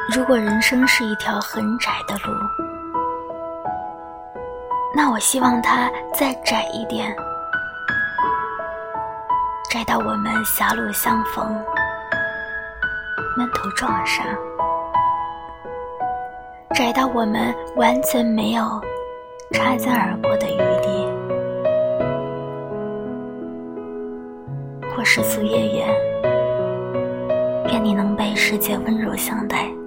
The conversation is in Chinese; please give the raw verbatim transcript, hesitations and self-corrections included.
如果人生是一条很窄的路，那我希望它再窄一点，窄到我们狭路相逢，闷头撞上，窄到我们完全没有擦肩而过的余地。或世俗夜远，愿你能被世界温柔相待。